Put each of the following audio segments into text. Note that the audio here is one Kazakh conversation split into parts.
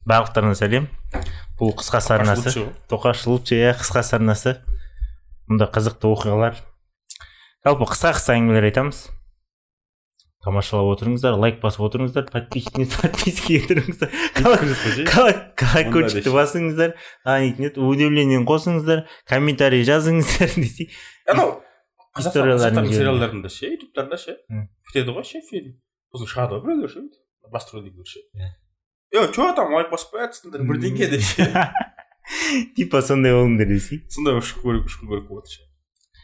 Барлықтарына сәлем. Бұл қысқа сарнасы. Тоқаш лучше, қысқа сарнасы. Мұнда қызықты оқиғалар. Жалпы қысқа әңгімелер айтамыз. Тамашалап отырыңыздар, лайк басып отырыңыздар, подписки етіріңіздер. Колокольчикті басыңыздар, удивлениені қосыңыздар, комментарий жазыңыздар десей. Қазақстан сериалдарында ше, ютубтарда ше, бітеді ғой ше фильм. Сосын шығады ғой біреулер ше, басты рөлдегілер ше. Чё там лайк басып қоятсыңдар бірдеңе де ше. Типа сондай болыңдар десей. Сондай ұшқын көріп болады ше.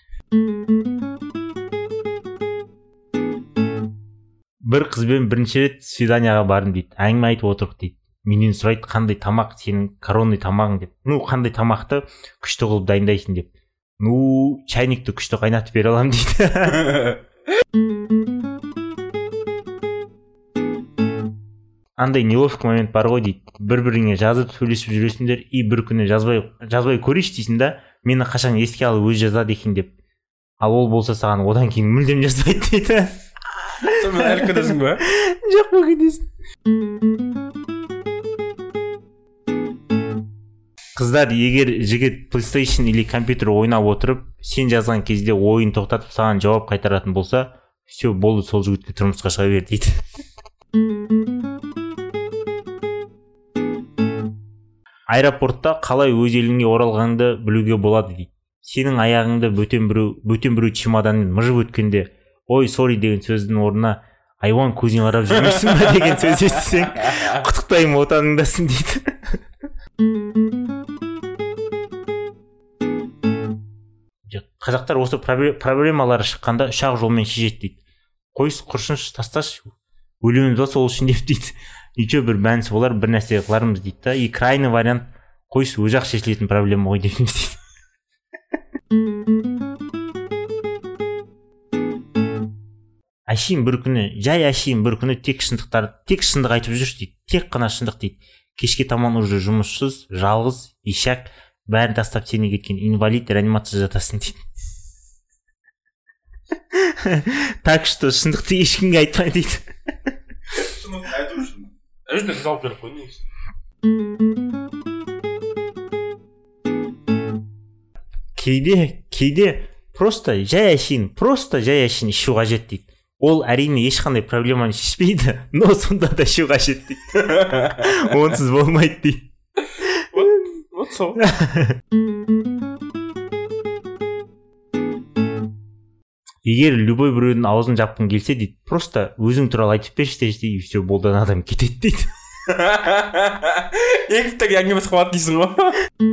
Бір қызбен бірінші рет свиданияға бардым дейді. Әңгіме айтып отырық дейді. Менен сұрайды, қандай тамақ сенің коронный тамағың деп. Қандай тамақты күшті қылып дайындайсың деп. Чайникті күшті қайнатып бере аламын дейді. Андай неловкий момент бар ғой дейді. Бір-біріңе жазып сөйлесіп жүресіңдер, бір күні жазбай көрейші дейсің да, мені қашан еске алып өз жазады екен деп. Ал ол болса саған одан кейін мүлдем жазбайды дейді. Сонымен әлі күнесің ба? Жоқ бұл күнесің. Қыздар, егер жігіт PlayStation или компьютер ойнап отырып, сен жазған кезде ойын тоқтатып саған жауап қайтаратын болса, все, болды, сол жігітке тұрмысқа шыға бер дейді. Аэропортта қалай өз еліңе оралғанды білуге болады дейді. Сенің аяғыңды бөтен біреу чемоданмен мыжып өткенде, ой, сори деген сөздің орнына айуан көзіне қарап жүрмейсің ба деген сөз естісең, құттықтаймын, отаныңдасың дейді. Қазақтар осы проблемалары шыққанда ұшақ жолмен шешеді дейді. Қойыс құршыншы тасташ, өлеміз ба сол үшін деп дейді. Ничего бір мәнісі болар, бір нәрсе қылармыз дейді да. И крайний вариант қойыс өзі-ақ шешілетін проблема ғой деп дейді. Әшейін бір күні тек шындық айтып жүрші дейді. Тек қана шындық дейді. Кешке таман уже жұмыссыз, жалғыз, ишак, бәрін тастап сені кеткен инвалид реанимация жатасың дейді. Так что шындықты ешкімге айтпай дейді. Шындықты айту үшін. Өзіне қалып беріп қой негізі. Кейде просто жай әшейін ішу қажет дейді. Ол әрине ешқандай проблеманы шешпейді, но сонда да ішу қажет дейді. Онсыз болмайды дейді. Вот сол. Егер любой біреудің аузын жапқың келсе дейді, просто өзің туралы айтып берші дейді, и все, болды, адам кетеді дейді. Екіптегі әңгімесі қуат дейсің ғой.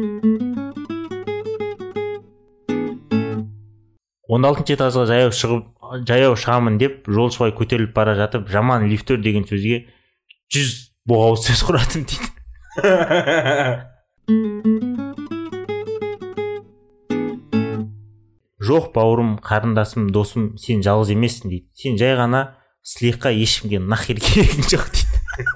16 этажға жаяу шығамын деп, жолшыбай көтеріліп бара жатып, жаман лифтер деген сөзге 100 боғау сөз құратын дейді. Жоқ, бауырым, қарындасым, досым, сен жалғыз емессің дейді. Сен жай ғана слегка ешкімге нахер керегің жоқ дейді.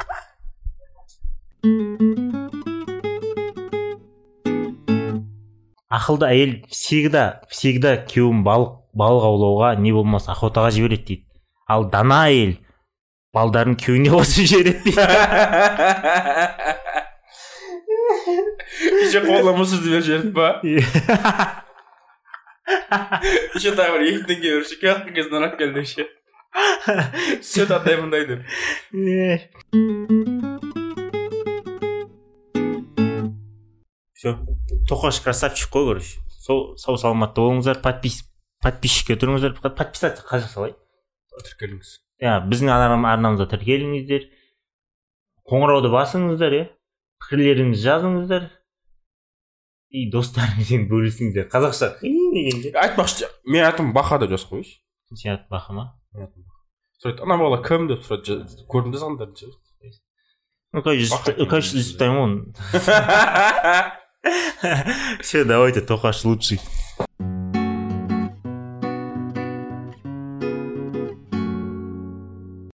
Ақылды әйел всегда күйеуін балық аулауға не болмас охотаға жібереді дейді. Ал дана әйел балдарын күйеуіне қосып жібереді дейді. Еще қоламысыз деп жіберді ба? Еще тағы бір 2 теңге бір шоколад кезінен ақ келді ше. Сөт аттай мұндай деп. Все. Тоқаш красавчик қой, короче. Сау саламатты болыңыздар, подписчикке тұрыңыздар, подписаться қажақ салай. Тіркеліңіз. Біздің арнамызда тіркеліңіздер. Қоңырауды басыңыздар, пікірлеріңізді жазыңыздар. И достарыңызбен бөлісіңіздер. Қазақша қиын дегенде. Айтпақшы, мен атым Баха деп жазып қойшы. Сен аты Баха ма? Сұрайды, ана бала кім деп сұрайды, көрдім де сандарын ше. Конечно, изучаем он. Все, давайте, Тохаш лучший.